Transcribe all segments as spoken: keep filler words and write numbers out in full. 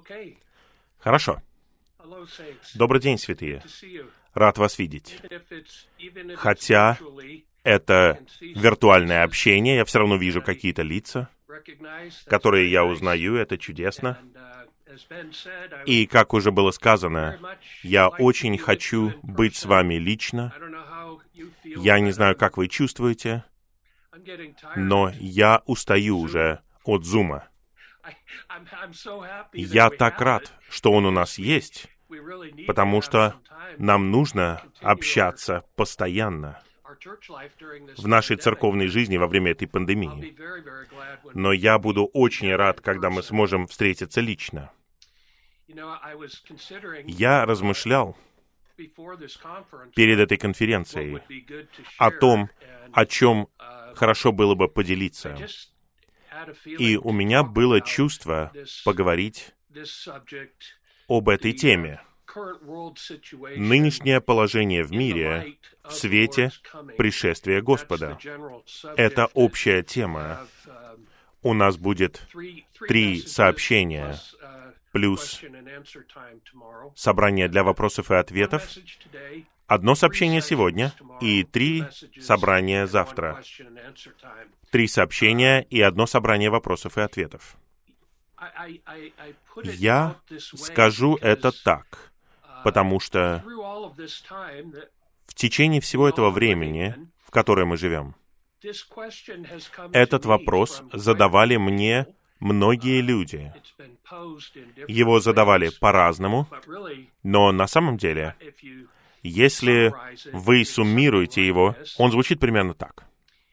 Хорошо. Добрый день, святые. Рад вас видеть. Хотя это виртуальное общение, я все равно вижу какие-то лица, которые я узнаю, это чудесно. И, как уже было сказано, я очень хочу быть с вами лично. Я не знаю, как вы чувствуете, но я устаю уже от Зума. Я так рад, что он у нас есть, потому что нам нужно общаться постоянно в нашей церковной жизни во время этой пандемии. Но я буду очень рад, когда мы сможем встретиться лично. Я размышлял перед этой конференцией о том, о чем хорошо было бы поделиться. И у меня было чувство поговорить об этой теме. Нынешнее положение в мире в свете пришествия Господа. Это общая тема. У нас будет три сообщения, плюс собрание для вопросов и ответов, одно сообщение сегодня и три собрания завтра. Три сообщения и одно собрание вопросов и ответов. Я скажу это так, потому что в течение всего этого времени, в которое мы живем, этот вопрос задавали мне многие люди. Его задавали по-разному, но на самом деле, если вы суммируете его, он звучит примерно так.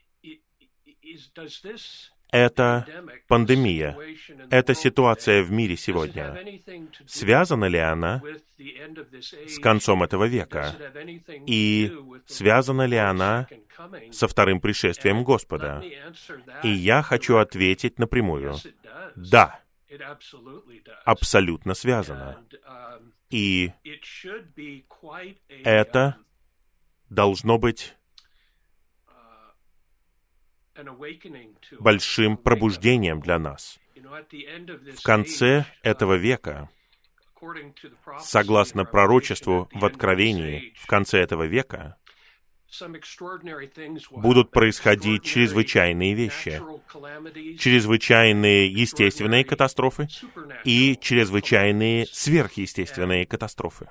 Это пандемия, эта ситуация в мире сегодня. Связана ли она с концом этого века? И связана ли она со вторым пришествием Господа? И я хочу ответить напрямую. Да, абсолютно связано. И это должно быть большим пробуждением для нас. В конце этого века, согласно пророчеству в Откровении, в конце этого века будут происходить чрезвычайные вещи, чрезвычайные естественные катастрофы и чрезвычайные сверхъестественные катастрофы.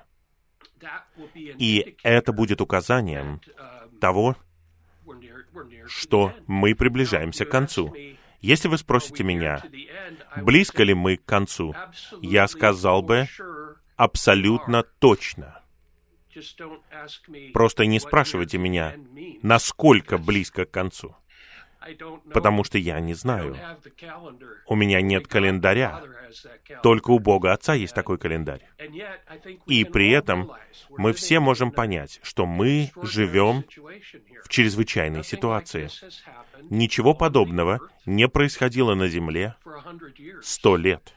И это будет указанием того, что мы приближаемся к концу. Если вы спросите меня, близко ли мы к концу, я сказал бы абсолютно точно. Просто не спрашивайте меня, насколько близко к концу, потому что я не знаю. У меня нет календаря, только у Бога Отца есть такой календарь. И при этом мы все можем понять, что мы живем в чрезвычайной ситуации. Ничего подобного не происходило на Земле сто лет.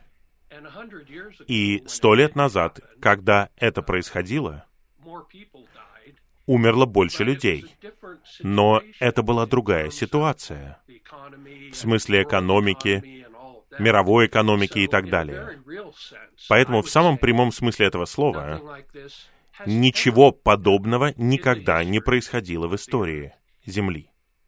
И сто лет назад, когда это происходило, умерло больше людей. Но это была другая ситуация. В смысле экономики, мировой экономики и так далее. Поэтому в самом прямом смысле этого слова ничего подобного никогда не происходило в истории Земли.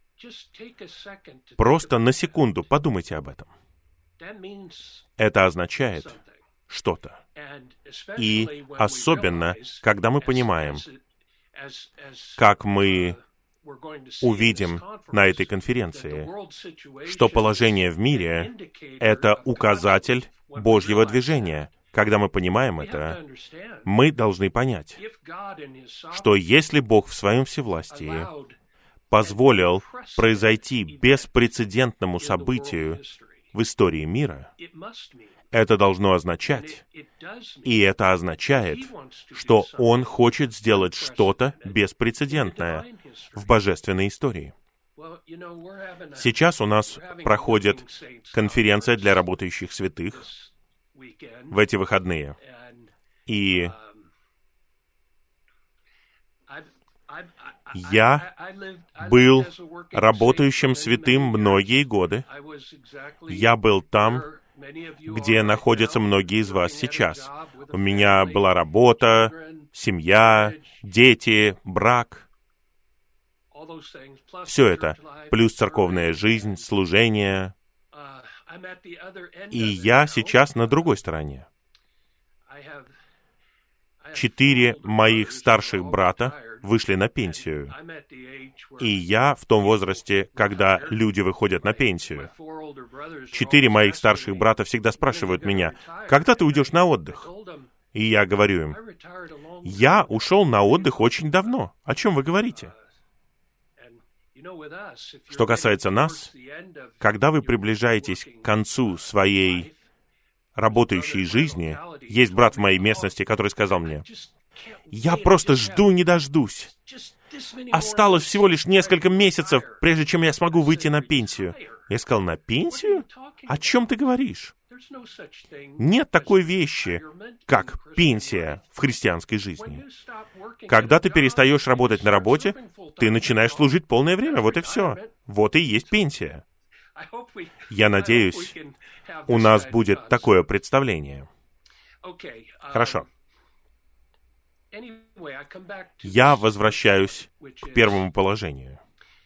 Просто на секунду подумайте об этом. Это означает что-то. И особенно, когда мы понимаем, как мы увидим на этой конференции, что положение в мире — это указатель Божьего движения. Когда мы понимаем это, мы должны понять, что если Бог в Своем всевластии позволил произойти беспрецедентному событию в истории мира, это должно означать, и это означает, что Он хочет сделать что-то беспрецедентное в божественной истории. Сейчас у нас проходит конференция для работающих святых в эти выходные. И я был работающим святым многие годы. Я был там где находятся многие из вас сейчас. У меня была работа, семья, дети, брак. Все это, плюс церковная жизнь, служение. И я сейчас на другой стороне. Четыре моих старших брата вышли на пенсию. И я в том возрасте, когда люди выходят на пенсию. Четыре моих старших брата всегда спрашивают меня, когда ты уйдешь на отдых? И я говорю им, я ушел на отдых очень давно. О чем вы говорите? Что касается нас, когда вы приближаетесь к концу своей работающей жизни, есть брат в моей местности, который сказал мне, я просто жду не дождусь. Осталось всего лишь несколько месяцев, прежде чем я смогу выйти на пенсию. Я сказал, на пенсию? О чем ты говоришь? Нет такой вещи, как пенсия в христианской жизни. Когда ты перестаешь работать на работе, ты начинаешь служить полное время, вот и все. Вот и есть пенсия. Я надеюсь, у нас будет такое представление. Хорошо. Я возвращаюсь к первому положению.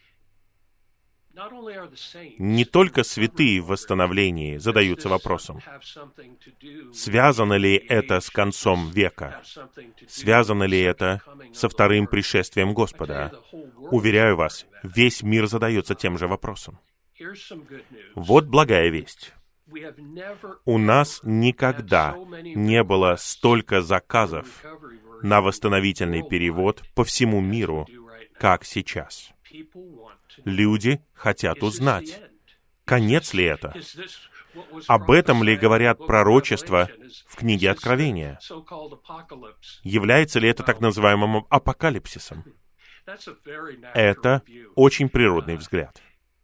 Не только святые в восстановлении задаются вопросом, связано ли это с концом века, связано ли это со вторым пришествием Господа. Уверяю вас, весь мир задается тем же вопросом. Вот благая весть. У нас никогда не было столько заказов на восстановительный перевод по всему миру, как сейчас. Люди хотят узнать, конец ли это? Об этом ли говорят пророчества в книге Откровения? Является ли это так называемым апокалипсисом? Это очень природный взгляд.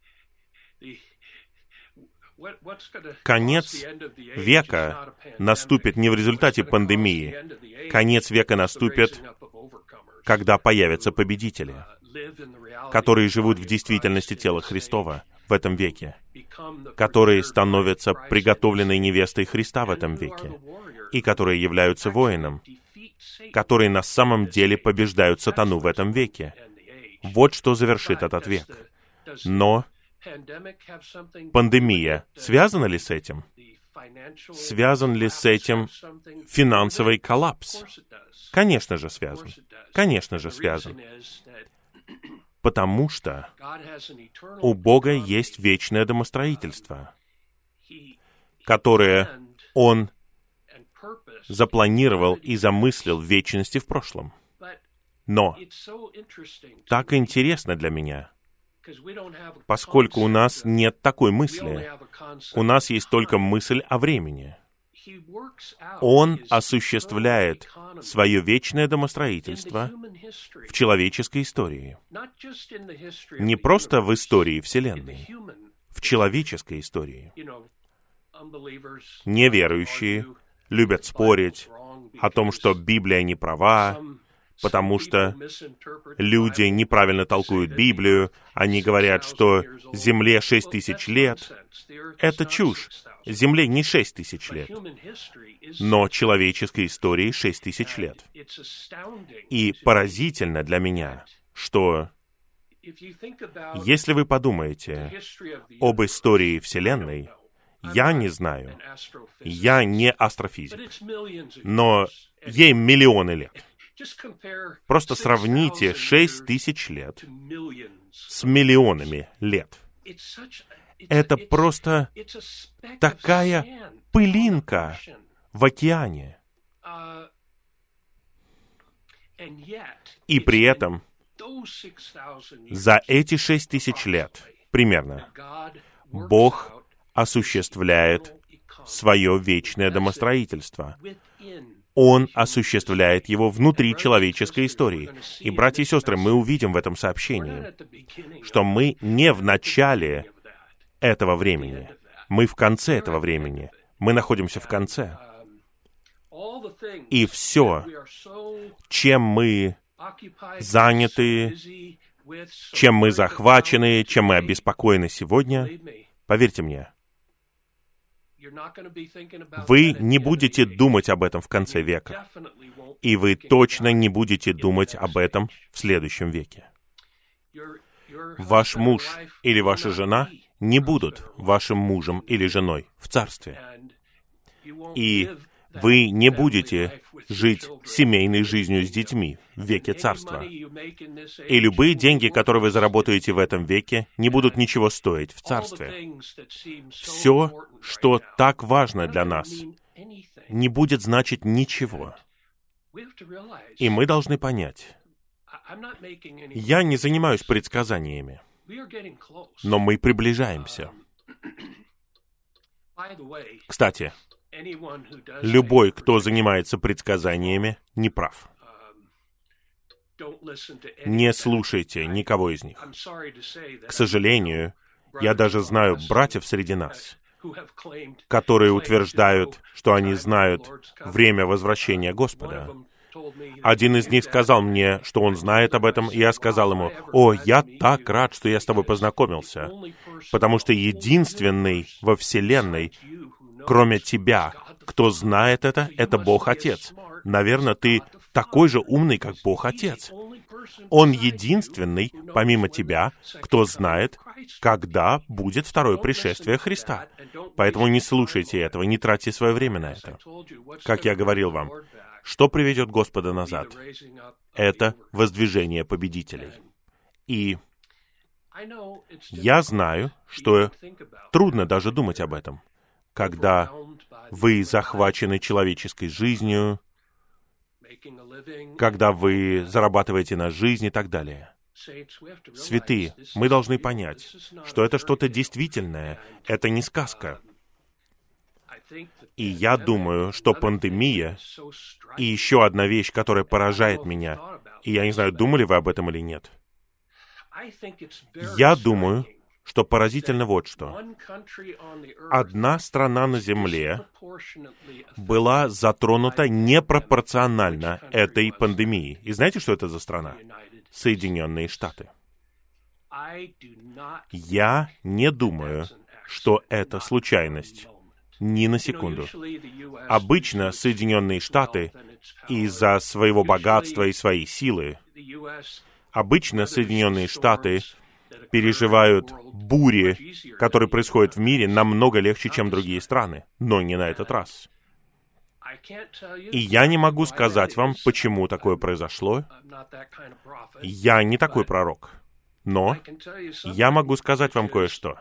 Конец века наступит не в результате пандемии. Конец века наступит, когда появятся победители, которые живут в действительности тела Христова в этом веке, которые становятся приготовленной невестой Христа в этом веке, и которые являются воином, которые на самом деле побеждают сатану в этом веке. Вот что завершит этот век. Но пандемия связана ли с этим? Связан ли с этим финансовый коллапс? Конечно же связан. Конечно же связан. Потому что у Бога есть вечное домостроительство, которое Он запланировал и замыслил в вечности в прошлом. Но так интересно для меня, поскольку у нас нет такой мысли. У нас есть только мысль о времени. Он осуществляет свое вечное домостроительство в человеческой истории. Не просто в истории Вселенной, в человеческой истории. Неверующие любят спорить о том, что Библия не права, потому что люди неправильно толкуют Библию, они говорят, что Земле шесть тысяч лет. Это чушь. Земле не шесть тысяч лет, но человеческой истории шесть тысяч лет. И поразительно для меня, что если вы подумаете об истории Вселенной, я не знаю, я не астрофизик, но ей миллионы лет. Просто сравните шесть тысяч лет с миллионами лет. Это просто такая пылинка в океане. И при этом за эти шесть тысяч лет примерно Бог осуществляет свое вечное домостроительство. Он осуществляет его внутри человеческой истории. И, братья и сестры, мы увидим в этом сообщении, что мы не в начале этого времени. Мы в конце этого времени. Мы находимся в конце. И все, чем мы заняты, чем мы захвачены, чем мы обеспокоены сегодня, поверьте мне, Вы не будете думать об этом в конце века, и вы точно не будете думать об этом в следующем веке. Ваш муж или ваша жена не будут вашим мужем или женой в царстве. И вы не будете жить семейной жизнью с детьми в веке царства. И любые деньги, которые вы заработаете в этом веке, не будут ничего стоить в царстве. Все, что так важно для нас, не будет значить ничего. И мы должны понять, я не занимаюсь предсказаниями, но мы приближаемся. Кстати, любой, кто занимается предсказаниями, не прав. Не слушайте никого из них. К сожалению, я даже знаю братьев среди нас, которые утверждают, что они знают время возвращения Господа. Один из них сказал мне, что он знает об этом, и я сказал ему: «О, я так рад, что я с тобой познакомился, потому что единственный во Вселенной, кроме тебя, кто знает это, это Бог Отец. Наверное, ты такой же умный, как Бог Отец. Он единственный, помимо тебя, кто знает, когда будет второе пришествие Христа. Поэтому не слушайте этого, не тратьте свое время на это». Как я говорил вам, что приведет Господа назад? Это воздвижение победителей. И я знаю, что трудно даже думать об этом, когда вы захвачены человеческой жизнью, когда вы зарабатываете на жизнь и так далее. Святые, мы должны понять, что это что-то действительное, это не сказка. И я думаю, что пандемия и еще одна вещь, которая поражает меня, и я не знаю, думали вы об этом или нет. Я думаю, что поразительно вот что. Одна страна на Земле была затронута непропорционально этой пандемией. И знаете, что это за страна? Соединенные Штаты. Я не думаю, что это случайность. Ни на секунду. Обычно Соединенные Штаты из-за своего богатства и своей силы, обычно Соединенные Штаты переживают бури, которые происходят в мире, намного легче, чем другие страны. Но не на этот раз. И я не могу сказать вам, почему такое произошло. Я не такой пророк. Но я могу сказать вам кое-что.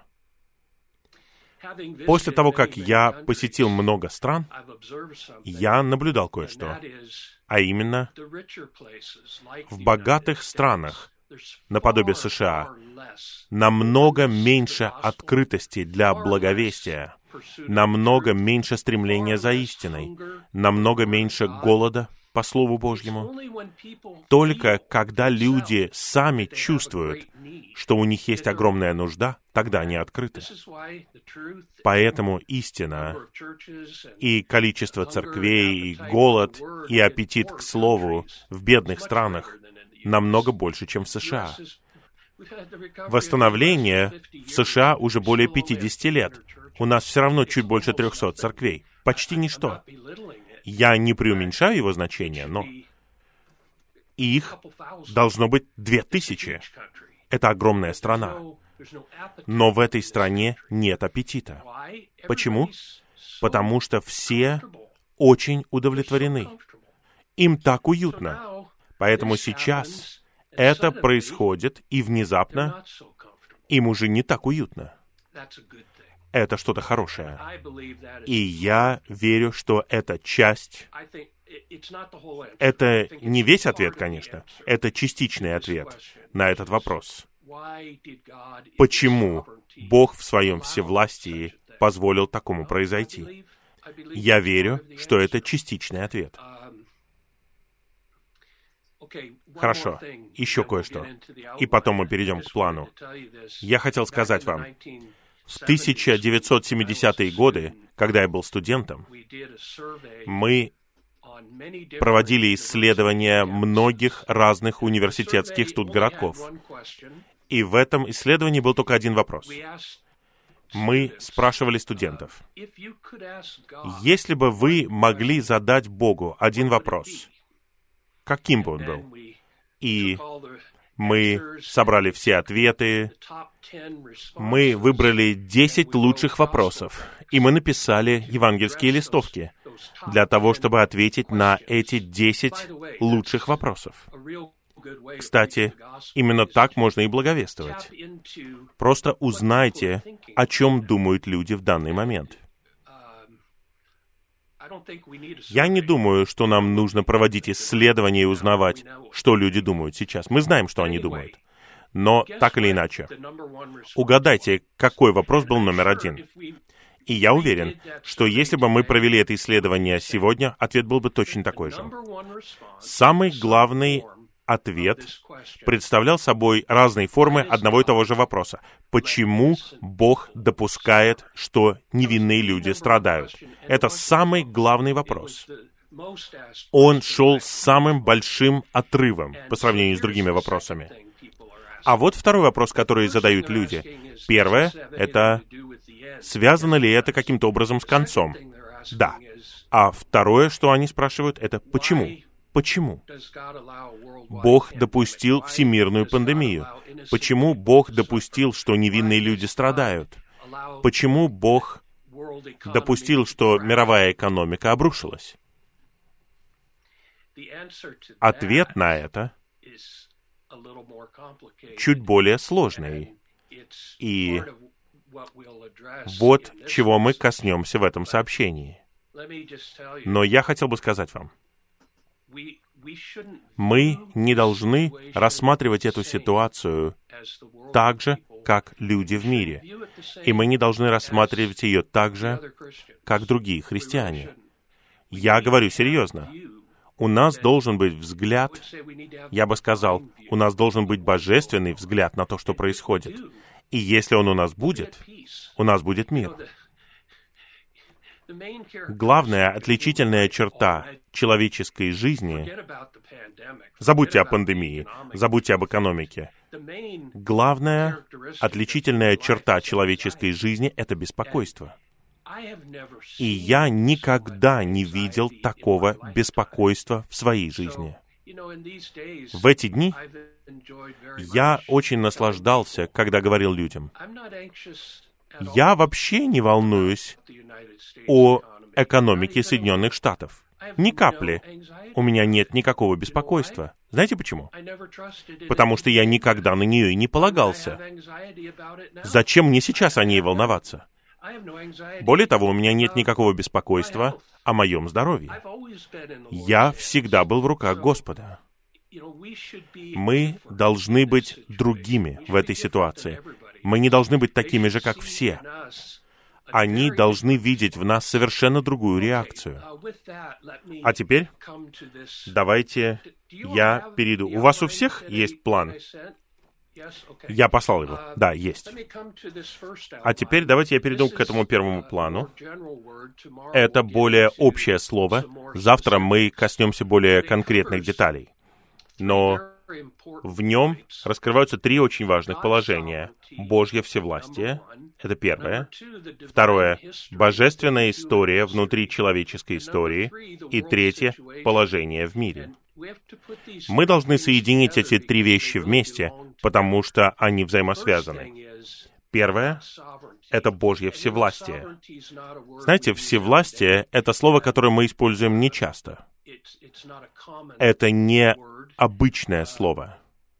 После того, как я посетил много стран, я наблюдал кое-что. А именно, в богатых странах, наподобие США, намного меньше открытости для благовестия, намного меньше стремления за истиной, намного меньше голода по Слову Божьему. Только когда люди сами чувствуют, что у них есть огромная нужда, тогда они открыты. Поэтому истина и количество церквей, и голод, и аппетит к Слову в бедных странах намного больше, чем в США. Восстановление в США уже более пятидесяти лет. У нас все равно чуть больше трехсот церквей. Почти ничто. Я не преуменьшаю его значение, но их должно быть две тысячи. Это огромная страна. Но в этой стране нет аппетита. Почему? Потому что все очень удовлетворены. Им так уютно. Поэтому сейчас это происходит, и внезапно им уже не так уютно. Это что-то хорошее. И я верю, что эта часть, это не весь ответ, конечно, это частичный ответ на этот вопрос. Почему Бог в своем всевластии позволил такому произойти? Я верю, что это частичный ответ. Хорошо, еще кое-что. И потом мы перейдем к плану. Я хотел сказать вам, в тысяча девятьсот семидесятые годы, когда я был студентом, мы проводили исследования многих разных университетских студгородков. И в этом исследовании был только один вопрос. Мы спрашивали студентов, если бы вы могли задать Богу один вопрос, каким бы он был? И мы собрали все ответы, мы выбрали десять лучших вопросов, и мы написали евангельские листовки для того, чтобы ответить на эти десять лучших вопросов. Кстати, именно так можно и благовествовать. Просто узнайте, о чем думают люди в данный момент. Я не думаю, что нам нужно проводить исследования и узнавать, что люди думают сейчас. Мы знаем, что они думают. Но так или иначе, угадайте, какой вопрос был номер один. И я уверен, что если бы мы провели это исследование сегодня, ответ был бы точно такой же. Самый главный ответ представлял собой разные формы одного и того же вопроса. Почему Бог допускает, что невинные люди страдают? Это самый главный вопрос. Он шел с самым большим отрывом по сравнению с другими вопросами. А вот второй вопрос, который задают люди. Первое — это связано ли это каким-то образом с концом? Да. А второе, что они спрашивают, это почему? Почему Бог допустил всемирную пандемию? Почему Бог допустил, что невинные люди страдают? Почему Бог допустил, что мировая экономика обрушилась? Ответ на это чуть более сложный. И вот чего мы коснемся в этом сообщении. Но я хотел бы сказать вам, мы не должны рассматривать эту ситуацию так же, как люди в мире. И мы не должны рассматривать ее так же, как другие христиане. Я говорю серьезно. У нас должен быть взгляд, я бы сказал, у нас должен быть божественный взгляд на то, что происходит. И если он у нас будет, у нас будет мир. Главная отличительная черта человеческой жизни, забудьте о пандемии, забудьте об экономике, главная отличительная черта человеческой жизни — это беспокойство. И я никогда не видел такого беспокойства в своей жизни. В эти дни я очень наслаждался, когда говорил людям, я вообще не волнуюсь о экономике Соединенных Штатов. Ни капли. У меня нет никакого беспокойства. Знаете почему? Потому что я никогда на нее и не полагался. Зачем мне сейчас о ней волноваться? Более того, у меня нет никакого беспокойства о моем здоровье. Я всегда был в руках Господа. Мы должны быть другими в этой ситуации. Мы не должны быть такими же, как все. Они должны видеть в нас совершенно другую реакцию. А теперь давайте я перейду. У вас у всех есть план? Я послал его. Да, есть. А теперь давайте я перейду к этому первому плану. Это более общее слово. Завтра мы коснемся более конкретных деталей. Но в нем раскрываются три очень важных положения. Божье всевластие — это первое. Второе — божественная история внутри человеческой истории. И третье — положение в мире. Мы должны соединить эти три вещи вместе, потому что они взаимосвязаны. Первое — это Божье всевластие. Знаете, всевластие — это слово, которое мы используем нечасто. Это не обычное слово.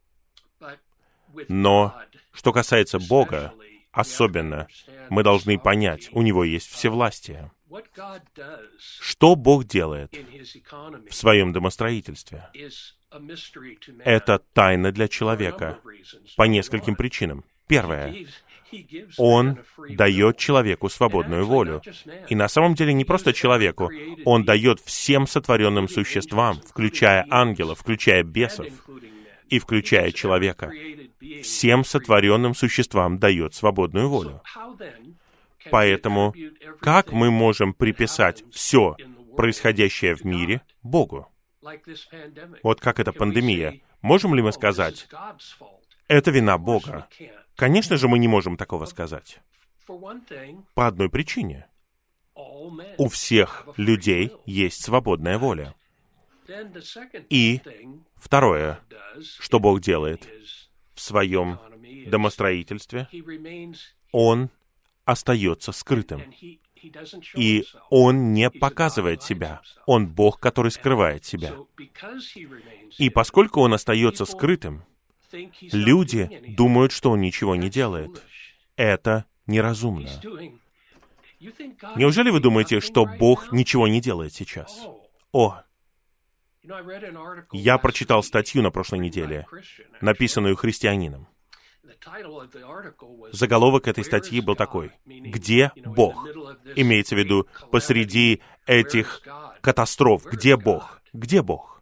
Но что касается Бога, особенно, мы должны понять, у Него есть всевластие. Что Бог делает в своем домостроительстве? Это тайна для человека по нескольким причинам. Первое. Он дает человеку свободную волю. И на самом деле не просто человеку. Он дает всем сотворенным существам, включая ангелов, включая бесов и включая человека. Всем сотворенным существам дает свободную волю. Поэтому как мы можем приписать все происходящее в мире Богу? Вот как эта пандемия. Можем ли мы сказать, это вина Бога? Конечно же, мы не можем такого сказать. По одной причине. У всех людей есть свободная воля. И второе, что Бог делает в своем домостроительстве, Он остается скрытым. И Он не показывает себя. Он Бог, который скрывает себя. И поскольку Он остается скрытым, люди думают, что Он ничего не делает. Это неразумно. Неужели вы думаете, что Бог ничего не делает сейчас? О! Я прочитал статью на прошлой неделе, написанную христианином. Заголовок этой статьи был такой: «Где Бог?» Имеется в виду, посреди этих катастроф, где Бог? Где Бог?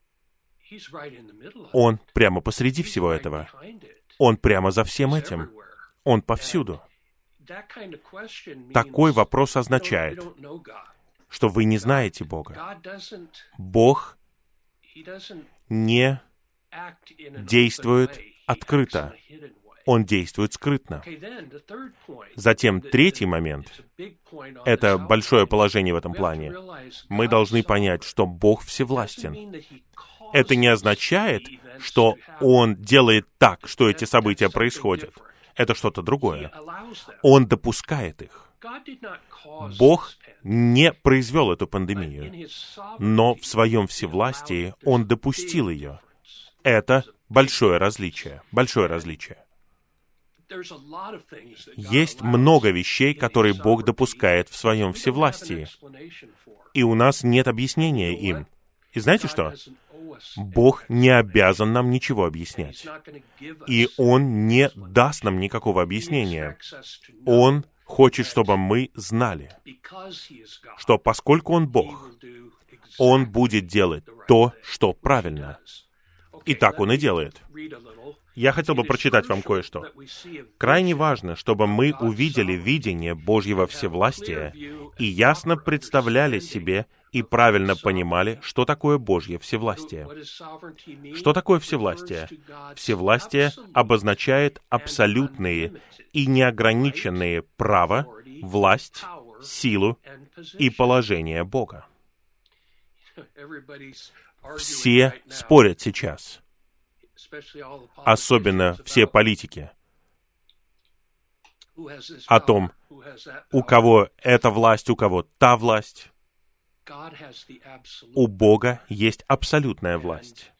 Он прямо посреди всего этого. Он прямо за всем этим. Он повсюду. Такой вопрос означает, что вы не знаете Бога. Бог не действует открыто. Он действует скрытно. Затем третий момент — это большое положение в этом плане. Мы должны понять, что Бог всевластен. Это не означает, что Он делает так, что эти события происходят. Это что-то другое. Он допускает их. Бог не произвел эту пандемию, но в своем всевластии Он допустил ее. Это большое различие. Большое различие. Есть много вещей, которые Бог допускает в своем всевластии, и у нас нет объяснения им. И знаете что? Бог не обязан нам ничего объяснять. И Он не даст нам никакого объяснения. Он хочет, чтобы мы знали, что поскольку Он Бог, Он будет делать то, что правильно. И так Он и делает. Я хотел бы прочитать вам кое-что. Крайне важно, чтобы мы увидели видение Божьего всевластия и ясно представляли себе и правильно понимали, что такое Божье всевластие. Что такое всевластие? Всевластие обозначает абсолютные и неограниченные право, власть, силу и положение Бога. Все спорят сейчас, особенно все политики, о том, у кого эта власть, у кого та власть. У Бога есть абсолютная власть.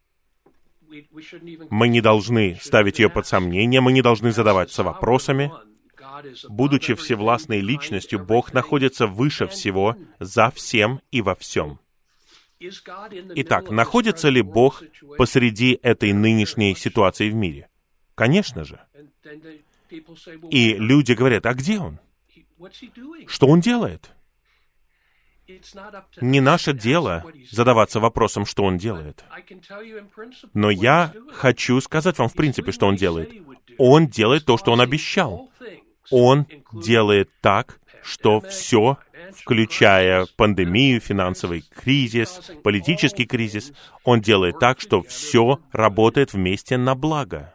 Мы не должны ставить ее под сомнение, мы не должны задаваться вопросами. Будучи всевластной личностью, Бог находится выше всего, за всем и во всем. Итак, находится ли Бог посреди этой нынешней ситуации в мире? Конечно же. И люди говорят: а где Он? Что Он делает? Не наше дело задаваться вопросом, что Он делает. Но я хочу сказать вам в принципе, что Он делает. Он делает то, что Он обещал. Он делает так, что все, включая пандемию, финансовый кризис, политический кризис, Он делает так, что все работает вместе на благо.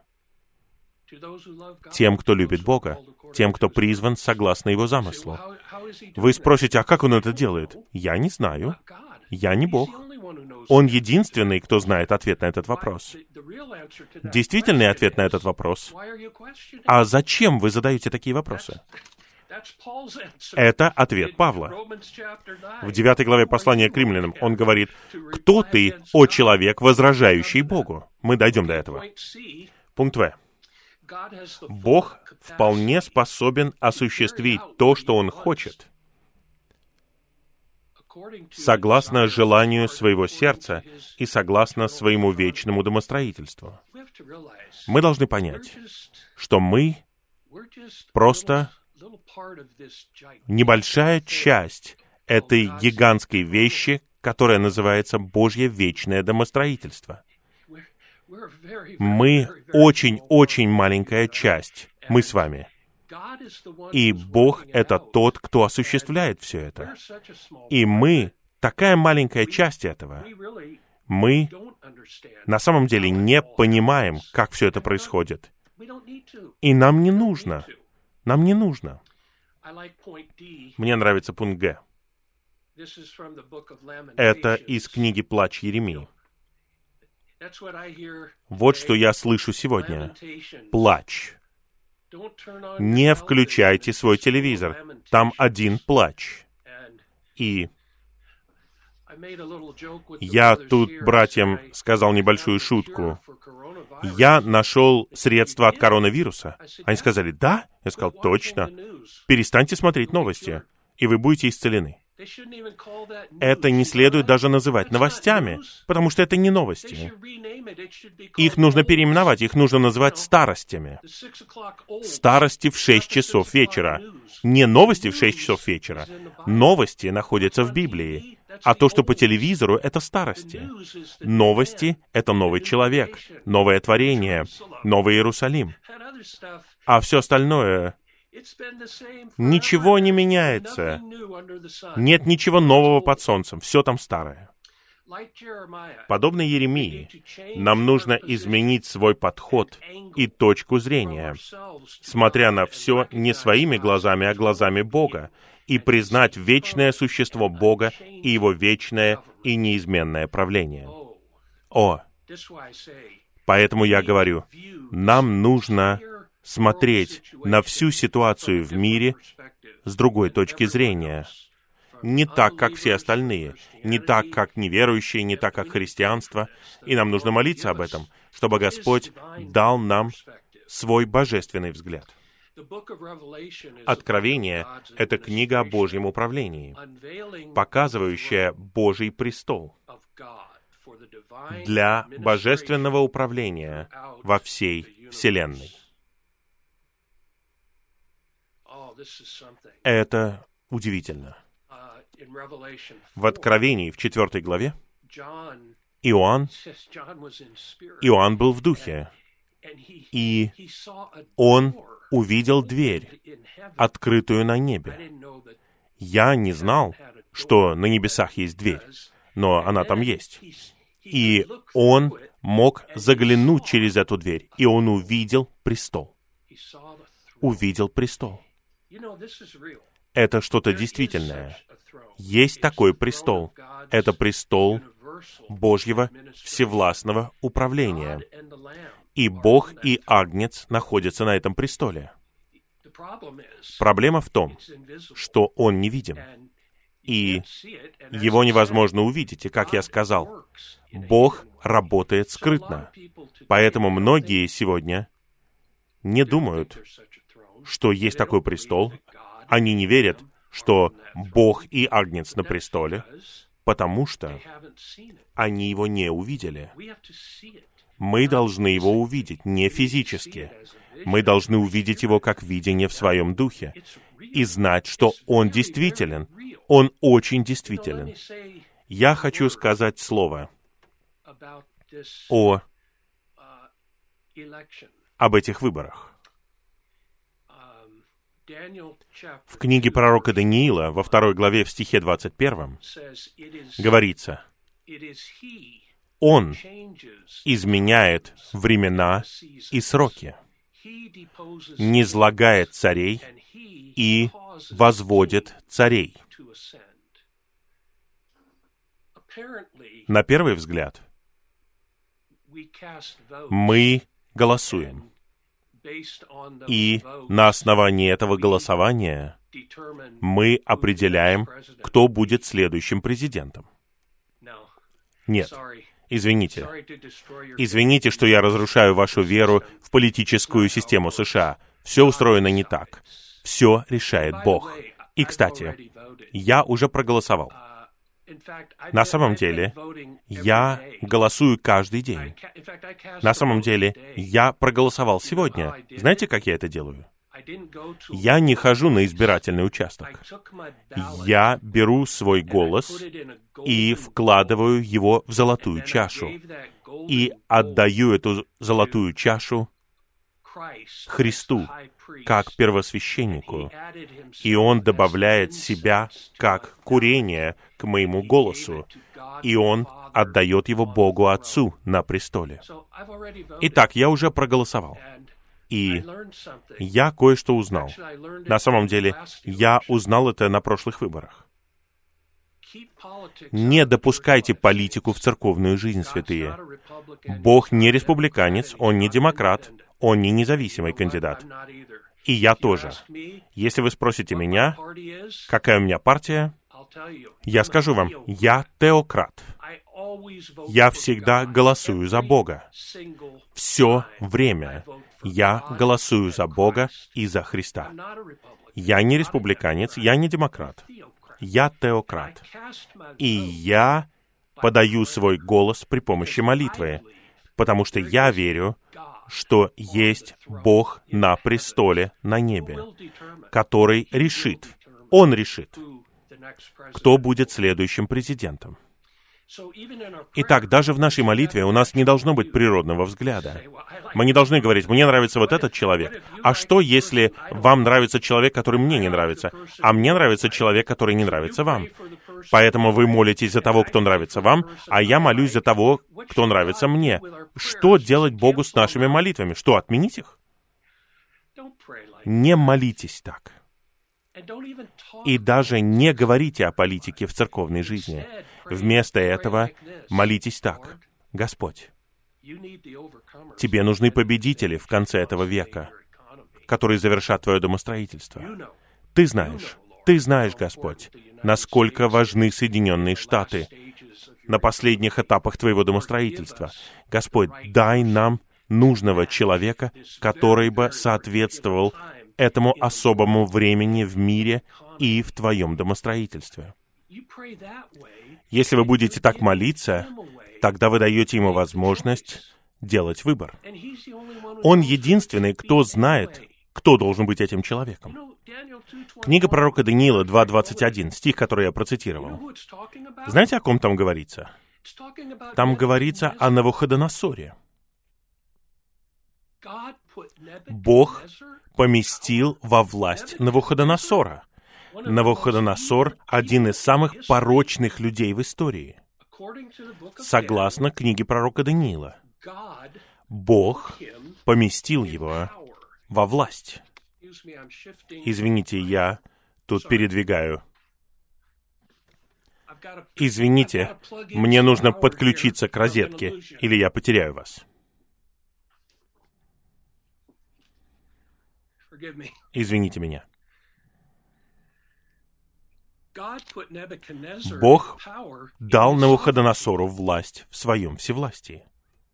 Тем, кто любит Бога, тем, кто призван согласно Его замыслу. Вы спросите: а как Он это делает? Я не знаю. Я не Бог. Он единственный, кто знает ответ на этот вопрос. Действительный ответ на этот вопрос: а зачем вы задаете такие вопросы? Это ответ Павла. В девятой главе послания к римлянам он говорит: «Кто ты, о человек, возражающий Богу?» Мы дойдем до этого. Пункт В. Бог вполне способен осуществить то, что Он хочет, согласно желанию своего сердца и согласно своему вечному домостроительству. Мы должны понять, что мы просто небольшая часть этой гигантской вещи, которая называется Божье вечное домостроительство. Мы очень-очень маленькая часть, мы с вами. И Бог — это тот, кто осуществляет все это. И мы такая маленькая часть этого. Мы на самом деле не понимаем, как все это происходит. И нам не нужно. Нам не нужно. Мне нравится пункт Г. Это из книги «Плач Иеремии». Вот что я слышу сегодня. Плач. Не включайте свой телевизор. Там один плач. И я тут братьям сказал небольшую шутку. Я нашел средства от коронавируса. Они сказали, да? Я сказал, точно. Перестаньте смотреть новости, и вы будете исцелены. Это не следует даже называть новостями, потому что это не новости. Их нужно переименовать, их нужно называть старостями. Старости в шесть часов вечера. Не новости в шесть часов вечера. Новости находятся в Библии. А то, что по телевизору, это старости. Новости — это новый человек, новое творение, новый Иерусалим. А все остальное... Ничего не меняется. Нет ничего нового под солнцем. Все там старое. Подобно Иеремии, нам нужно изменить свой подход и точку зрения, смотря на все не своими глазами, а глазами Бога, и признать вечное существо Бога и Его вечное и неизменное правление. О! Поэтому я говорю, нам нужно смотреть на всю ситуацию в мире с другой точки зрения. Не так, как все остальные, не так, как неверующие, не так, как христианство. И нам нужно молиться об этом, чтобы Господь дал нам свой божественный взгляд. Откровение — это книга о Божьем управлении, показывающая Божий престол для божественного управления во всей Вселенной. Это удивительно. В Откровении, в четвертой главе, Иоанн, Иоанн был в духе, и он увидел дверь, открытую на небе. Я не знал, что на небесах есть дверь, но она там есть. И он мог заглянуть через эту дверь, и он увидел престол. Увидел престол. Это что-то действительное. Есть такой престол. Это престол Божьего всевластного управления. И Бог и Агнец находятся на этом престоле. Проблема в том, что Он невидим. И Его невозможно увидеть. И, как я сказал, Бог работает скрытно. Поэтому многие сегодня не думают, что есть такой престол. Они не верят, что Бог и Агнец на престоле, потому что они его не увидели. Мы должны его увидеть не физически. Мы должны увидеть его как видение в своем духе и знать, что он действителен. Он очень действителен. Я хочу сказать слово о, об этих выборах. В книге пророка Даниила, во второй главе, в стихе двадцать первом, говорится, «Он изменяет времена и сроки, низвергает царей и возводит царей». На первый взгляд, мы голосуем. И на основании этого голосования мы определяем, кто будет следующим президентом. Нет, извините. Извините, что я разрушаю вашу веру в политическую систему США. Все устроено не так. Все решает Бог. И, кстати, я уже проголосовал. На самом деле, я голосую каждый день. На самом деле, я проголосовал сегодня. Знаете, как я это делаю? Я не хожу на избирательный участок. Я беру свой голос и вкладываю его в золотую чашу. И отдаю эту золотую чашу Христу, как первосвященнику, и Он добавляет себя, как курение, к моему голосу, и Он отдает его Богу Отцу на престоле. Итак, я уже проголосовал. И я кое-что узнал. На самом деле, я узнал это на прошлых выборах. Не допускайте политику в церковную жизнь, святые. Бог не республиканец, Он не демократ, Он не независимый кандидат. И я тоже. Если вы спросите меня, какая у меня партия, я скажу вам, я теократ. Я всегда голосую за Бога. Все время я голосую за Бога и за Христа. Я не республиканец, я не демократ. Я теократ. И я подаю свой голос при помощи молитвы, потому что я верю, что есть Бог на престоле на небе, который решит, Он решит, кто будет следующим президентом. Итак, даже в нашей молитве у нас не должно быть природного взгляда. Мы не должны говорить, мне нравится вот этот человек. А что, если вам нравится человек, который мне не нравится, а мне нравится человек, который не нравится вам? Поэтому вы молитесь за того, кто нравится вам, а я молюсь за того, кто нравится мне. Что делать Богу с нашими молитвами? Что, отменить их? Не молитесь так. И даже не говорите о политике в церковной жизни. Вместо этого молитесь так. Господь, Тебе нужны победители в конце этого века, которые завершат Твое домостроительство. Ты знаешь, Ты знаешь, Господь, насколько важны Соединенные Штаты на последних этапах Твоего домостроительства. Господь, дай нам нужного человека, который бы соответствовал этому особому времени в мире и в Твоем домостроительстве. Если вы будете так молиться, тогда вы даете Ему возможность делать выбор. Он единственный, кто знает, кто должен быть этим человеком. Книга пророка Даниила два двадцать один, стих, который я процитировал. Знаете, о ком там говорится? Там говорится о Навуходоносоре. Бог поместил во власть Навуходоносора. Навуходоносор — один из самых порочных людей в истории. Согласно книге пророка Даниила, Бог поместил его во власть. Извините, я тут передвигаю. Извините, мне нужно подключиться к розетке, или я потеряю вас. Извините меня. Бог дал Навуходоносору власть в своем всевластии.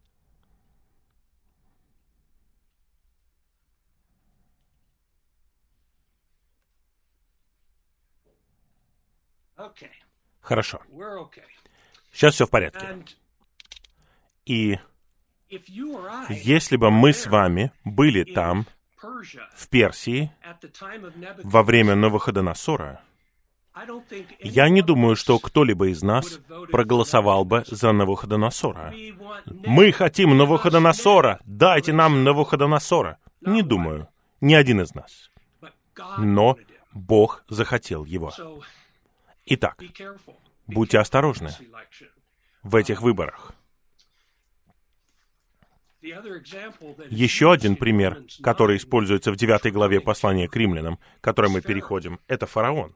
Хорошо. Сейчас все в порядке. И если бы мы с вами были там, в Персии, во время Навуходоносора, я не думаю, что кто-либо из нас проголосовал бы за Навуходоносора. Мы хотим Навуходоносора! Дайте нам Навуходоносора! Не думаю. Ни один из нас. Но Бог захотел его. Итак, будьте осторожны в этих выборах. Еще один пример, который используется в девятой главе послания к римлянам, к которой мы переходим, это фараон.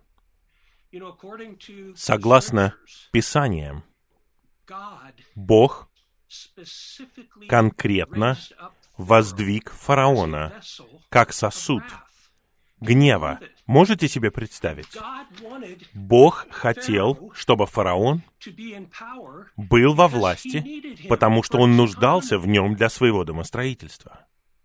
Согласно Писаниям, Бог конкретно воздвиг фараона как сосуд гнева. Можете себе представить? Бог хотел, чтобы фараон был во власти, потому что он нуждался в нем для своего домостроительства.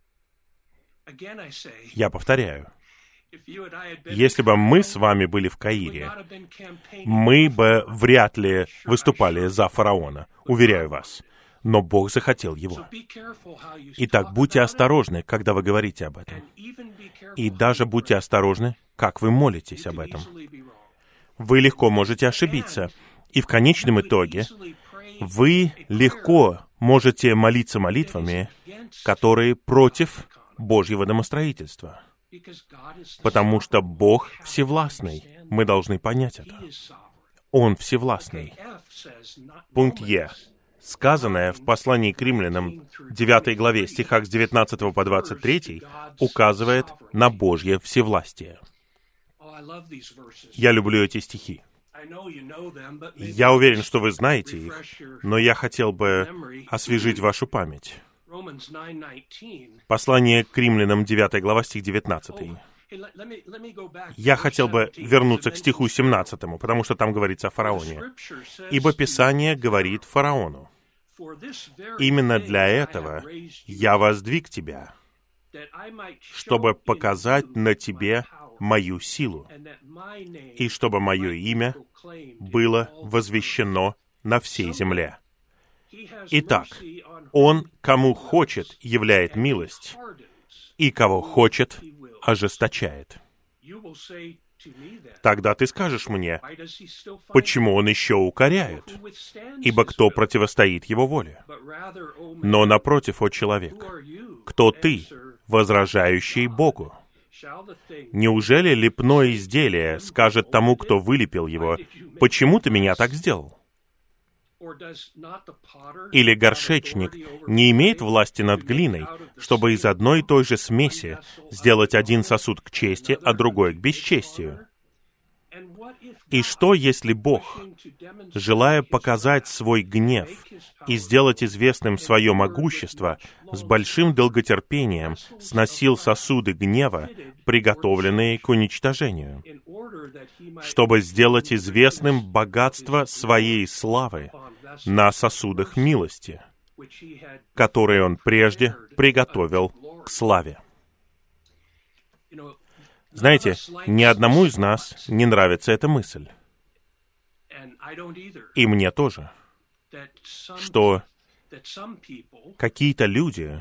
Я повторяю. Если бы мы с вами были в Каире, мы бы вряд ли выступали за фараона, уверяю вас. Но Бог захотел его. Итак, будьте осторожны, когда вы говорите об этом. И даже будьте осторожны, как вы молитесь об этом. Вы легко можете ошибиться. И в конечном итоге вы легко можете молиться молитвами, которые против Божьего домостроительства. Потому что Бог всевластный. Мы должны понять это. Он всевластный. Пункт Е. сказанное в послании к римлянам девятой главе, стихах с девятнадцатого по двадцать третий, указывает на Божье всевластие. Я люблю эти стихи. Я уверен, что вы знаете их, но я хотел бы освежить вашу память. Послание к римлянам девятая глава, стих девятнадцатый. Я хотел бы вернуться к стиху семнадцатому, потому что там говорится о фараоне. «Ибо Писание говорит фараону: именно для этого я воздвиг тебя, чтобы показать на тебе мою силу, и чтобы мое имя было возвещено на всей земле. Итак, Он, кому хочет, являет милость, и кого хочет, ожесточает». Тогда ты скажешь мне, почему он еще укоряет? Ибо кто противостоит его воле? Но напротив, о человек, кто ты, возражающий Богу? Неужели лепное изделие скажет тому, кто вылепил его: почему ты меня так сделал? Или горшечник не имеет власти над глиной, чтобы из одной и той же смеси сделать один сосуд к чести, а другой к бесчестию? И что, если Бог, желая показать свой гнев и сделать известным свое могущество, с большим долготерпением сносил сосуды гнева, приготовленные к уничтожению, чтобы сделать известным богатство своей славы на сосудах милости, которые Он прежде приготовил к славе? Знаете, ни одному из нас не нравится эта мысль. И мне тоже. Что какие-то люди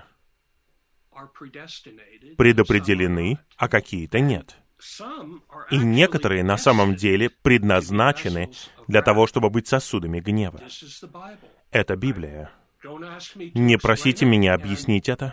предопределены, а какие-то нет. И некоторые на самом деле предназначены для того, чтобы быть сосудами гнева. Это Библия. Не просите меня объяснить это.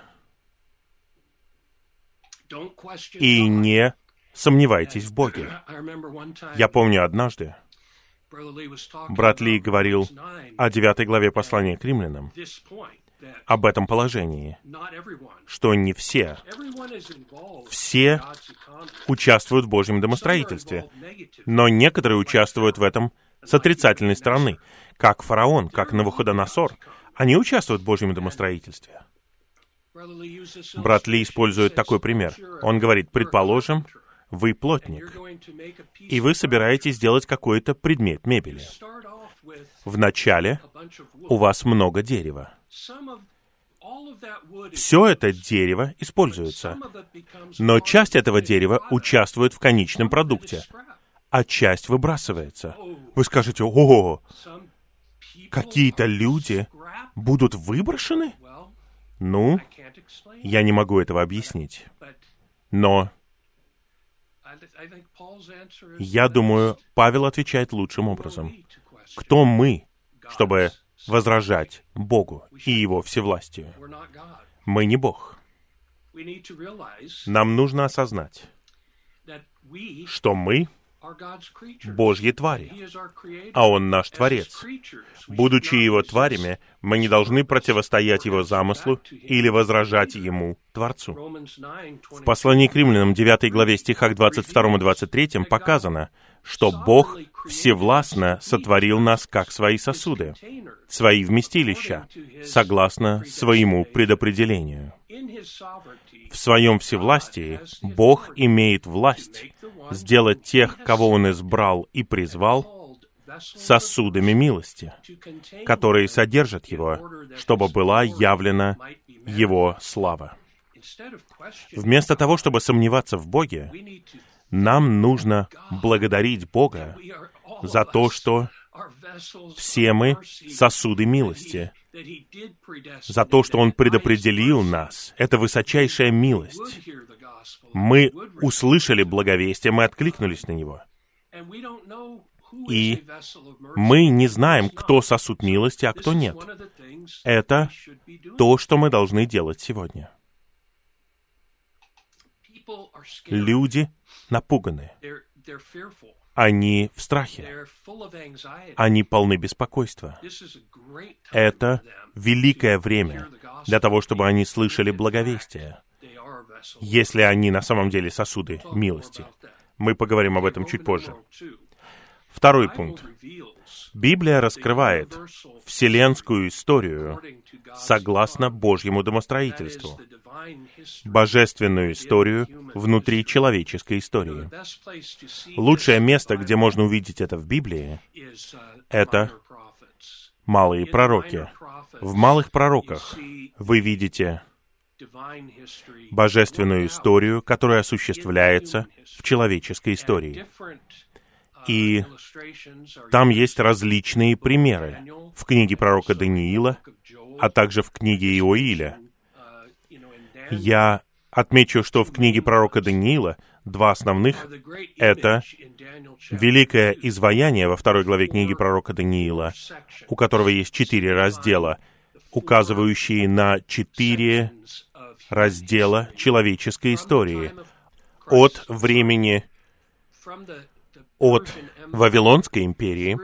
И не сомневайтесь в Боге. Я помню однажды, брат Ли говорил о девятой главе послания к римлянам, об этом положении, что не все, все участвуют в Божьем домостроительстве, но некоторые участвуют в этом с отрицательной стороны, как фараон, как Навуходоносор. Они участвуют в Божьем домостроительстве. Брат Ли использует такой пример. Он говорит: предположим, вы плотник, и вы собираетесь сделать какой-то предмет мебели. Вначале у вас много дерева. Все это дерево используется, но часть этого дерева участвует в конечном продукте, а часть выбрасывается. Вы скажете: «О, какие-то люди будут выброшены?» Ну, я не могу этого объяснить. Но я думаю, Павел отвечает лучшим образом. Кто мы, чтобы возражать Богу и Его всевластию? Мы не Бог. Нам нужно осознать, что мы Божьи твари, а Он наш Творец. Будучи Его тварями, мы не должны противостоять Его замыслу или возражать Ему, Творцу. В послании к римлянам девятой главе стихах двадцать втором и двадцать третьем показано, что Бог всевластно сотворил нас как свои сосуды, свои вместилища, согласно своему предопределению. В своем всевластии Бог имеет власть сделать тех, кого Он избрал и призвал, сосудами милости, которые содержат Его, чтобы была явлена Его слава. Вместо того, чтобы сомневаться в Боге, нам нужно благодарить Бога за то, что все мы сосуды милости, за то, что Он предопределил нас. Это высочайшая милость. Мы услышали благовестие, мы откликнулись на него. И мы не знаем, кто сосуд милости, а кто нет. Это то, что мы должны делать сегодня. Люди напуганы. Они в страхе. Они полны беспокойства. Это великое время для того, чтобы они слышали благовестие, если они на самом деле сосуды милости. Мы поговорим об этом чуть позже. Второй пункт. Библия раскрывает вселенскую историю согласно Божьему домостроительству, божественную историю внутри человеческой истории. Лучшее место, где можно увидеть это в Библии, это малые пророки. В малых пророках вы видите божественную историю, которая осуществляется в человеческой истории. И там есть различные примеры в книге пророка Даниила, а также в книге Иоиля. Я отмечу, что в книге пророка Даниила два основных — это великое изваяние во второй главе книги пророка Даниила, у которого есть четыре раздела, указывающие на четыре раздела человеческой истории от времени от Вавилонской империи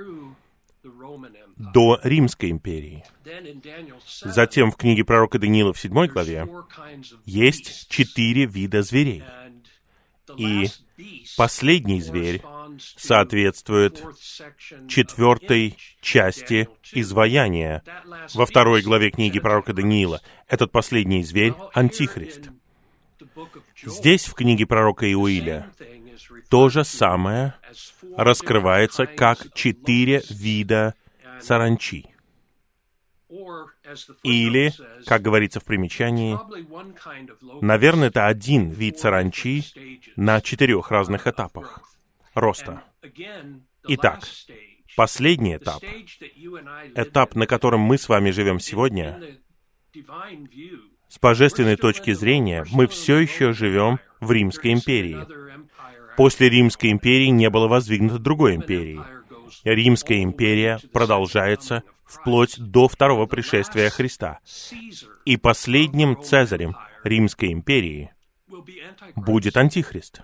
до Римской империи. Затем в книге пророка Даниила в седьмой главе есть четыре вида зверей. И последний зверь соответствует четвертой части изваяния во второй главе книги пророка Даниила. Этот последний зверь — Антихрист. Здесь, в книге пророка Иоиля, то же самое раскрывается как четыре вида саранчи. Или, как говорится в примечании, наверное, это один вид саранчи на четырех разных этапах роста. Итак, последний этап, этап, на котором мы с вами живем сегодня, с божественной точки зрения, мы все еще живем в Римской империи. После Римской империи не было воздвигнуто другой империи. Римская империя продолжается вплоть до второго пришествия Христа. И последним цезарем Римской империи будет Антихрист.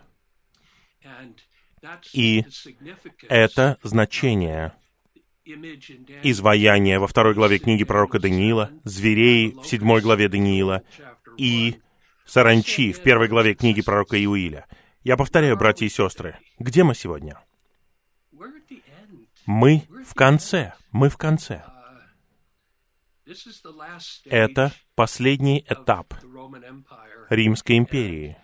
И это значение изваяния во второй главе книги пророка Даниила, зверей в седьмой главе Даниила и саранчи в первой главе книги пророка Иоиля. Я повторяю, братья и сестры, где мы сегодня? Мы в конце, мы в конце. Это последний этап Римской империи.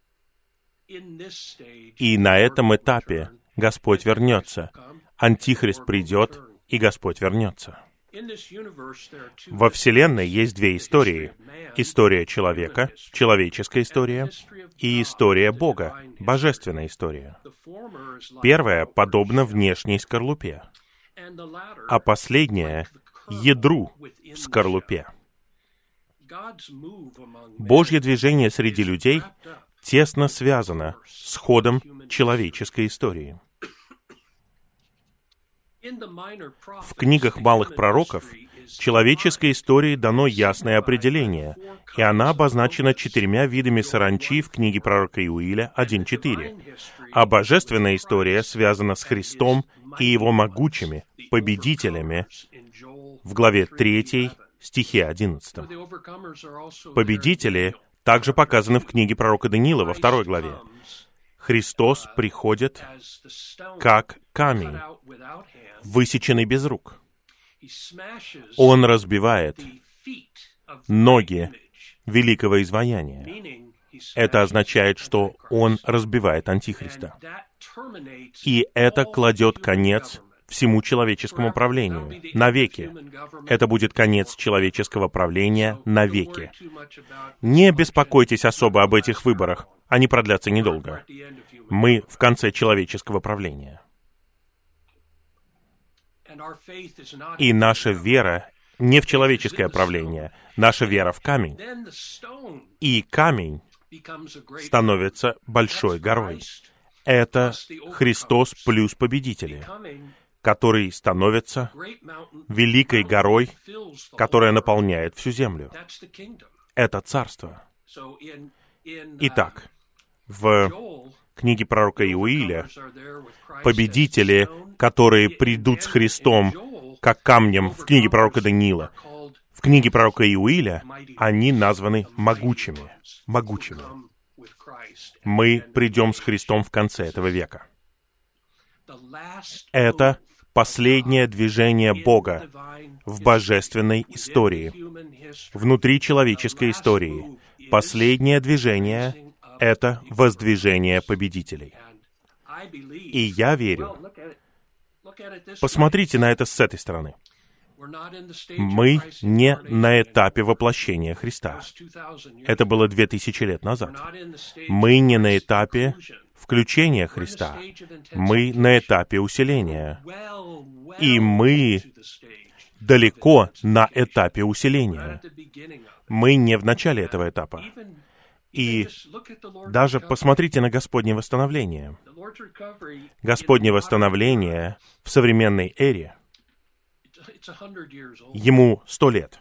И на этом этапе Господь вернется. Антихрист придет, и Господь вернется. Во Вселенной есть две истории. История человека, человеческая история, и история Бога, божественная история. Первая подобна внешней скорлупе, а последняя — ядру в скорлупе. Божье движение среди людей тесно связано с ходом человеческой истории. В книгах малых пророков человеческой истории дано ясное определение, и она обозначена четырьмя видами саранчи в книге пророка Иоиля один четыре. А божественная история связана с Христом и Его могучими победителями в главе третьей, стихе одиннадцатом. Победители также показаны в книге пророка Даниила во второй главе. Христос приходит как камень, высеченный без рук. Он разбивает ноги великого изваяния. Это означает, что Он разбивает Антихриста. И это кладет конец всему человеческому правлению навеки. Это будет конец человеческого правления навеки. Не беспокойтесь особо об этих выборах. Они продлятся недолго. Мы в конце человеческого правления. И наша вера не в человеческое правление. Наша вера в камень. И камень становится большой горой. Это Христос плюс победители, который становится великой горой, которая наполняет всю землю. Это царство. Итак, в книге пророка Иоиля, победители, которые придут с Христом, как камнем в книге пророка Даниила, в книге пророка Иоиля, они названы могучими. Могучими. Мы придем с Христом в конце этого века. Это последнее движение Бога в божественной истории, внутри человеческой истории. Последнее движение — это воздвижение победителей. И я верю. Посмотрите на это с этой стороны. Мы не на этапе воплощения Христа. Это было две тысячи лет назад. Мы не на этапе включения Христа. Мы на этапе усиления. И мы далеко на этапе усиления. Мы не в начале этого этапа. И даже посмотрите на Господнее восстановление. Господнее восстановление в современной эре, ему сто лет.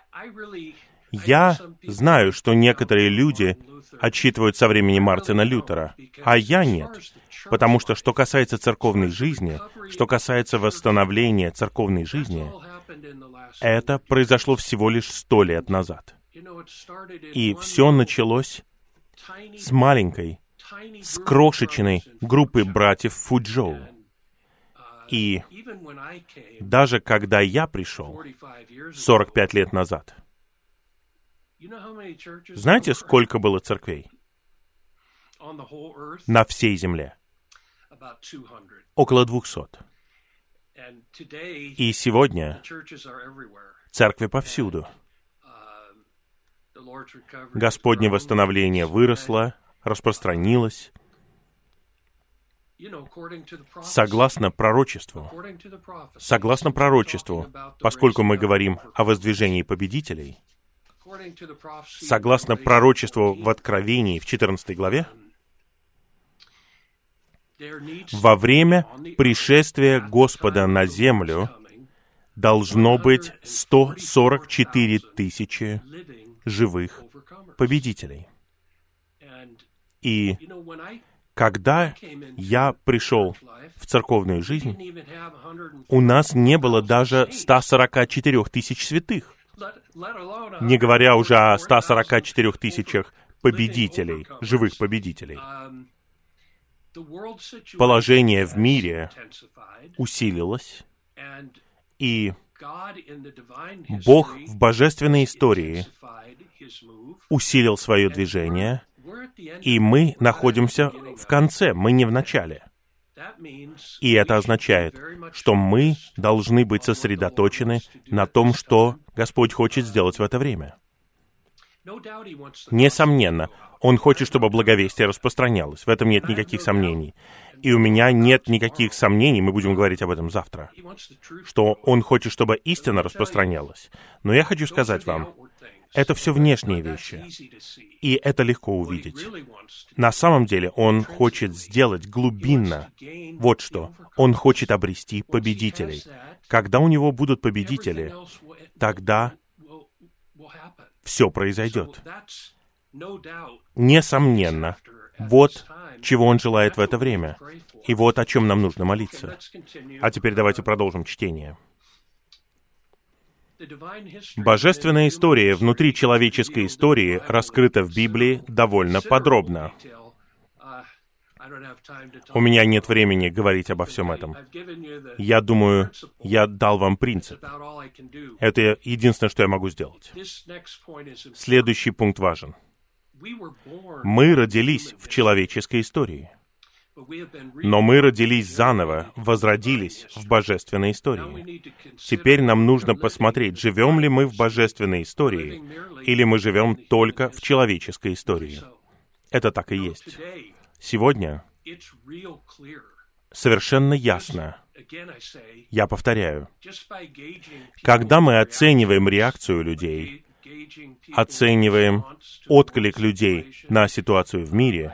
Я знаю, что некоторые люди отсчитывают со времени Мартина Лютера, а я нет. Потому что, что касается церковной жизни, что касается восстановления церковной жизни, это произошло всего лишь сто лет назад. И все началось с маленькой, с крошечной группы братьев Фуджоу. И даже когда я пришел сорок пять лет назад, знаете, сколько было церквей на всей земле? Около двухсот. И сегодня церкви повсюду. Господне восстановление выросло, распространилось. Согласно пророчеству, согласно пророчеству, поскольку мы говорим о воздвижении победителей, согласно пророчеству в Откровении в четырнадцатой главе, во время пришествия Господа на землю должно быть сто сорок четыре тысячи живых победителей. И когда я пришел в церковную жизнь, у нас не было даже ста сорока четырёх тысяч святых, не говоря уже о ста сорока четырёх тысячах победителей, живых победителей. Положение в мире усилилось, и Бог в божественной истории усилил свое движение, и мы находимся в конце, мы не в начале. И это означает, что мы должны быть сосредоточены на том, что Господь хочет сделать в это время. Несомненно, Он хочет, чтобы благовестие распространялось. В этом нет никаких сомнений. И у меня нет никаких сомнений, мы будем говорить об этом завтра, что Он хочет, чтобы истина распространялась. Но я хочу сказать вам, это все внешние вещи, и это легко увидеть. На самом деле Он хочет сделать глубинно вот что. Он хочет обрести победителей. Когда у Него будут победители, тогда все произойдет. Несомненно, вот чего Он желает в это время, и вот о чем нам нужно молиться. А теперь давайте продолжим чтение. Божественная история внутри человеческой истории раскрыта в Библии довольно подробно. У меня нет времени говорить обо всем этом. Я думаю, я дал вам принцип. Это единственное, что я могу сделать. Следующий пункт важен. Мы родились в человеческой истории, но мы родились заново, возродились в божественной истории. Теперь нам нужно посмотреть, живем ли мы в божественной истории, или мы живем только в человеческой истории. Это так и есть. Сегодня совершенно ясно, я повторяю, когда мы оцениваем реакцию людей, оцениваем отклик людей на ситуацию в мире,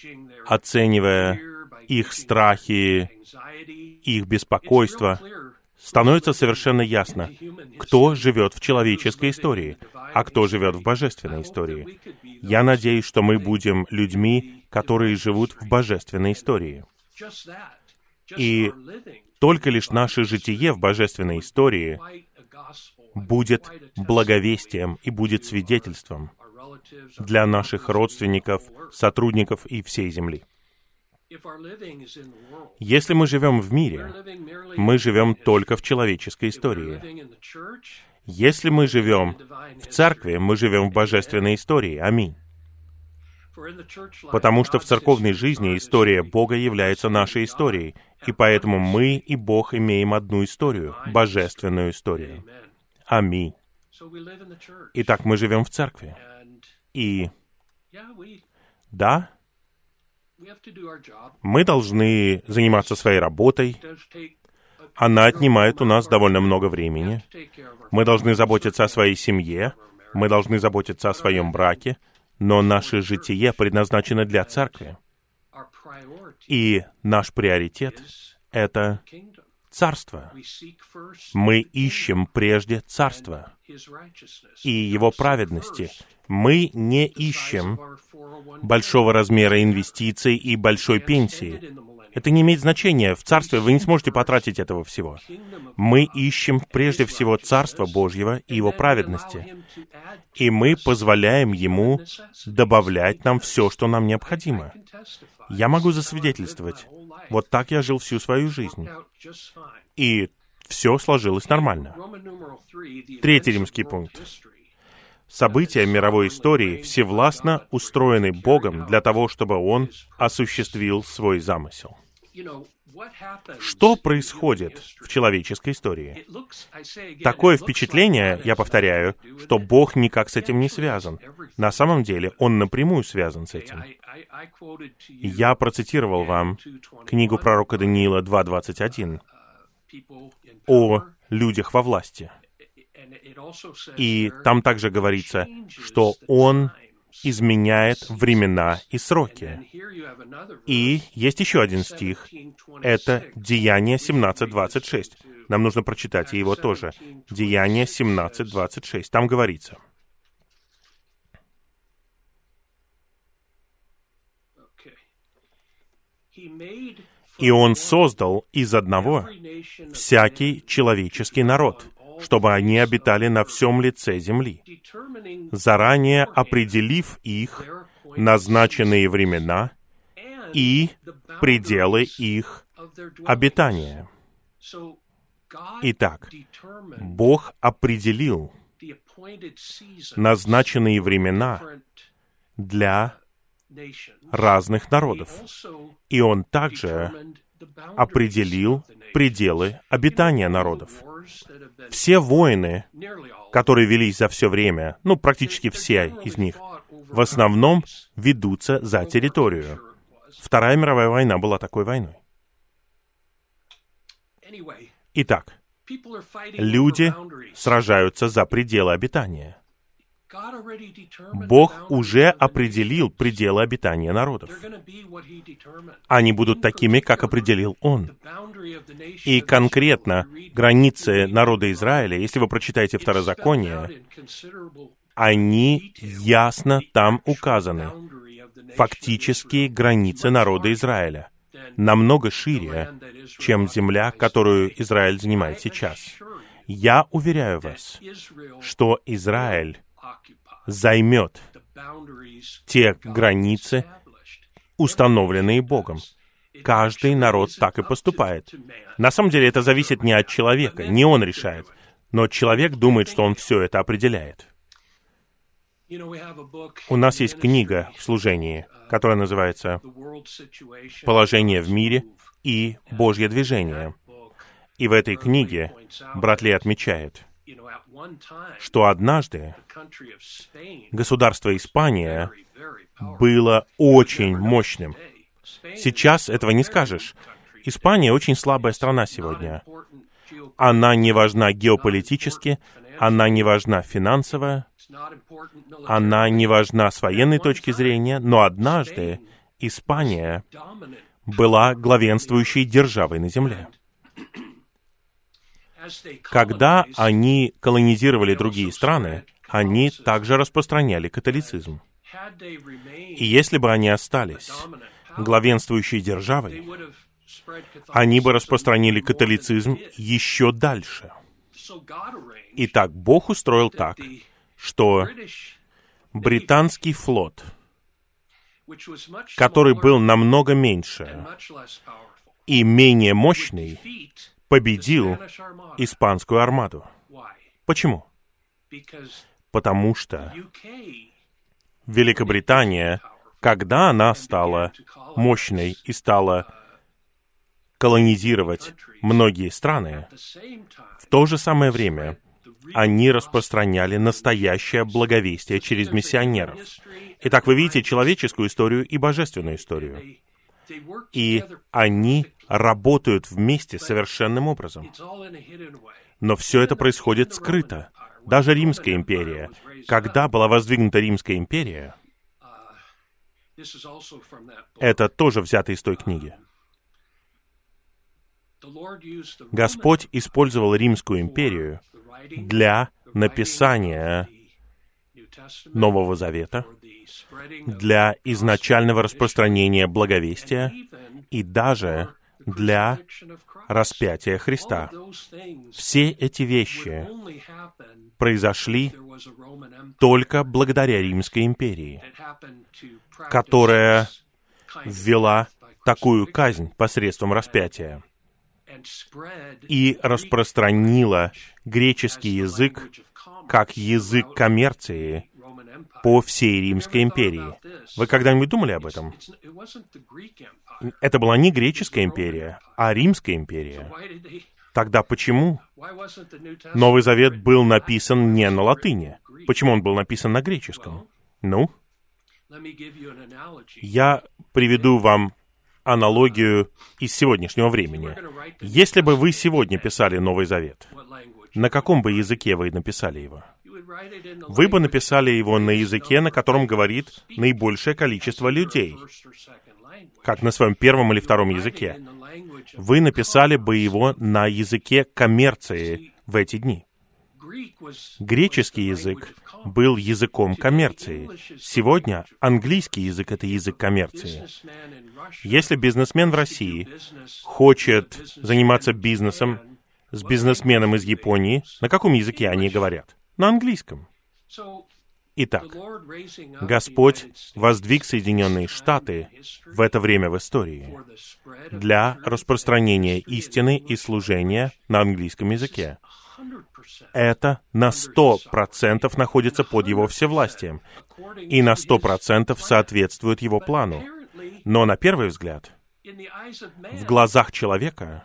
оценивая их страхи, их беспокойство, становится совершенно ясно, кто живет в человеческой истории, а кто живет в божественной истории. Я надеюсь, что мы будем людьми, которые живут в божественной истории. И только лишь наше житие в божественной истории будет благовестием и будет свидетельством для наших родственников, сотрудников и всей земли. Если мы живем в мире, мы живем только в человеческой истории. Если мы живем в церкви, мы живем в божественной истории. Аминь. Потому что в церковной жизни история Бога является нашей историей, и поэтому мы и Бог имеем одну историю, божественную историю. Аминь. Итак, мы живем в церкви. И да, мы должны заниматься своей работой. Она отнимает у нас довольно много времени. Мы должны заботиться о своей семье. Мы должны заботиться о своем браке. Но наше житие предназначено для церкви. И наш приоритет — это царство. Мы ищем прежде царство и его праведности. Мы не ищем большого размера инвестиций и большой пенсии. Это не имеет значения. В царстве вы не сможете потратить этого всего. Мы ищем прежде всего Царство Божьего и Его праведности. И мы позволяем Ему добавлять нам все, что нам необходимо. Я могу засвидетельствовать. Вот так я жил всю свою жизнь. И все сложилось нормально. Третий римский пункт. События мировой истории всевластно устроены Богом для того, чтобы Он осуществил свой замысел. Что происходит в человеческой истории? Такое впечатление, я повторяю, что Бог никак с этим не связан. На самом деле, Он напрямую связан с этим. Я процитировал вам книгу пророка Даниила два двадцать один о людях во власти. И там также говорится, что Он изменяет времена и сроки. И есть еще один стих. Это Деяния семнадцать двадцать шесть. Нам нужно прочитать и его тоже. Деяния семнадцать двадцать шесть. Там говорится. «И Он создал из одного всякий человеческий народ, чтобы они обитали на всем лице земли, заранее определив их назначенные времена и пределы их обитания». Итак, Бог определил назначенные времена для разных народов, и Он также определил пределы обитания народов. Все войны, которые велись за все время, ну, практически все из них, в основном ведутся за территорию. Вторая мировая война была такой войной. Итак, люди сражаются за пределы обитания. Бог уже определил пределы обитания народов. Они будут такими, как определил Он. И конкретно границы народа Израиля, если вы прочитаете Второзаконие, они ясно там указаны. Фактические границы народа Израиля намного шире, чем земля, которую Израиль занимает сейчас. Я уверяю вас, что Израиль займет те границы, установленные Богом. Каждый народ так и поступает. На самом деле это зависит не от человека, не он решает, но человек думает, что он все это определяет. У нас есть книга в служении, которая называется «Положение в мире и Божье движение». И в этой книге брат Ли отмечает, что однажды государство Испания было очень мощным. Сейчас этого не скажешь. Испания очень слабая страна сегодня. Она не важна геополитически, она не важна финансово, она не важна с военной точки зрения, но однажды Испания была главенствующей державой на земле. Когда они колонизировали другие страны, они также распространяли католицизм. И если бы они остались главенствующей державой, они бы распространили католицизм еще дальше. Итак, Бог устроил так, что британский флот, который был намного меньше и менее мощный, победил испанскую армаду. Почему? Потому что Великобритания, когда она стала мощной и стала колонизировать многие страны, в то же самое время они распространяли настоящее благовестие через миссионеров. Итак, вы видите человеческую историю и божественную историю. И они работают вместе совершенным образом. Но все это происходит скрыто. Даже Римская империя. Когда была воздвигнута Римская империя, это тоже взято из той книги. Господь использовал Римскую империю для написания Нового Завета, для изначального распространения благовестия и даже для распятия Христа. Все эти вещи произошли только благодаря Римской империи, которая ввела такую казнь посредством распятия и распространила греческий язык как язык коммерции по всей Римской империи. Вы когда-нибудь думали об этом? Это была не греческая империя, а Римская империя. Тогда почему Новый Завет был написан не на латыни? Почему он был написан на греческом? Ну, я приведу вам аналогию из сегодняшнего времени. Если бы вы сегодня писали Новый Завет, на каком бы языке вы написали его? Вы бы написали его на языке, на котором говорит наибольшее количество людей, как на своем первом или втором языке. Вы написали бы его на языке коммерции в эти дни. Греческий язык был языком коммерции. Сегодня английский язык — это язык коммерции. Если бизнесмен в России хочет заниматься бизнесом с бизнесменом из Японии, на каком языке они говорят? На английском. Итак, Господь воздвиг Соединенные Штаты в это время в истории для распространения истины и служения на английском языке. Это на сто процентов находится под Его всевластием и на сто процентов соответствует Его плану. Но на первый взгляд, в глазах человека,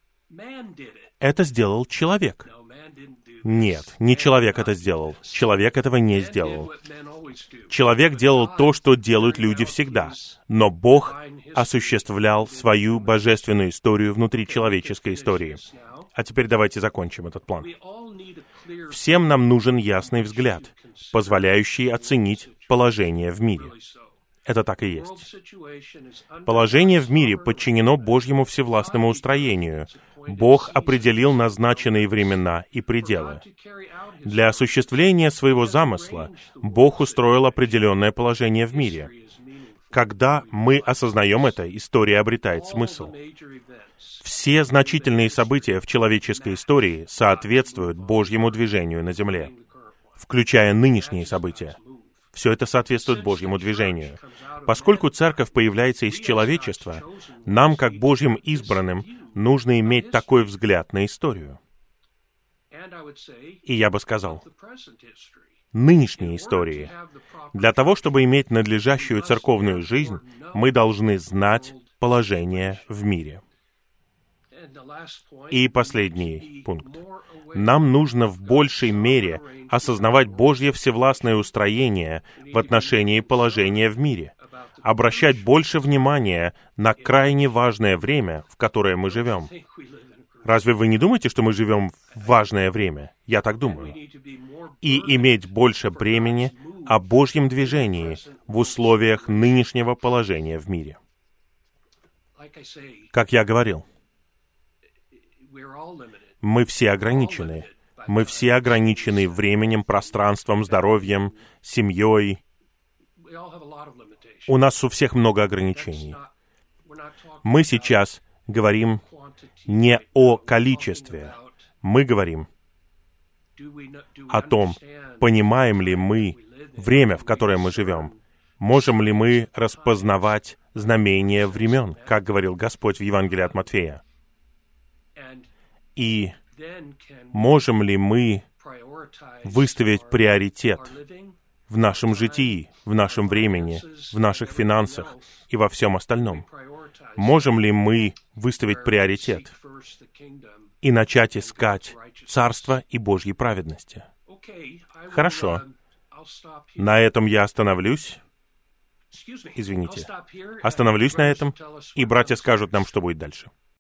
это сделал человек. Нет, не человек это сделал. Человек этого не сделал. Человек делал то, что делают люди всегда. Но Бог осуществлял свою божественную историю внутри человеческой истории. А теперь давайте закончим этот план. Всем нам нужен ясный взгляд, позволяющий оценить положение в мире. Это так и есть. Положение в мире подчинено Божьему всевластному устроению. Бог определил назначенные времена и пределы. Для осуществления своего замысла Бог устроил определенное положение в мире. Когда мы осознаем это, история обретает смысл. Все значительные события в человеческой истории соответствуют Божьему движению на земле, включая нынешние события. Все это соответствует Божьему движению. Поскольку Церковь появляется из человечества, нам, как Божьим избранным, нужно иметь такой взгляд на историю. И я бы сказал, нынешней истории. Для того, чтобы иметь надлежащую церковную жизнь, мы должны знать положение в мире. И последний пункт. Нам нужно в большей мере осознавать Божье всевластное устроение в отношении положения в мире, обращать больше внимания на крайне важное время, в которое мы живем. Разве вы не думаете, что мы живем в важное время? Я так думаю. И иметь больше бремени о Божьем движении в условиях нынешнего положения в мире. Как я говорил, Мы все ограничены. Мы все ограничены временем, пространством, здоровьем, семьей. У нас у всех много ограничений. Мы сейчас говорим не о количестве. Мы говорим о том, понимаем ли мы время, в которое мы живем. Можем ли мы распознавать знамения времен, как говорил Господь в Евангелии от Матфея? И можем ли мы выставить приоритет в нашем житии, в нашем времени, в наших финансах и во всем остальном? Можем ли мы выставить приоритет и начать искать Царство и Божьей праведности? Хорошо. На этом я остановлюсь. Извините. Остановлюсь на этом, и братья скажут нам, что будет дальше.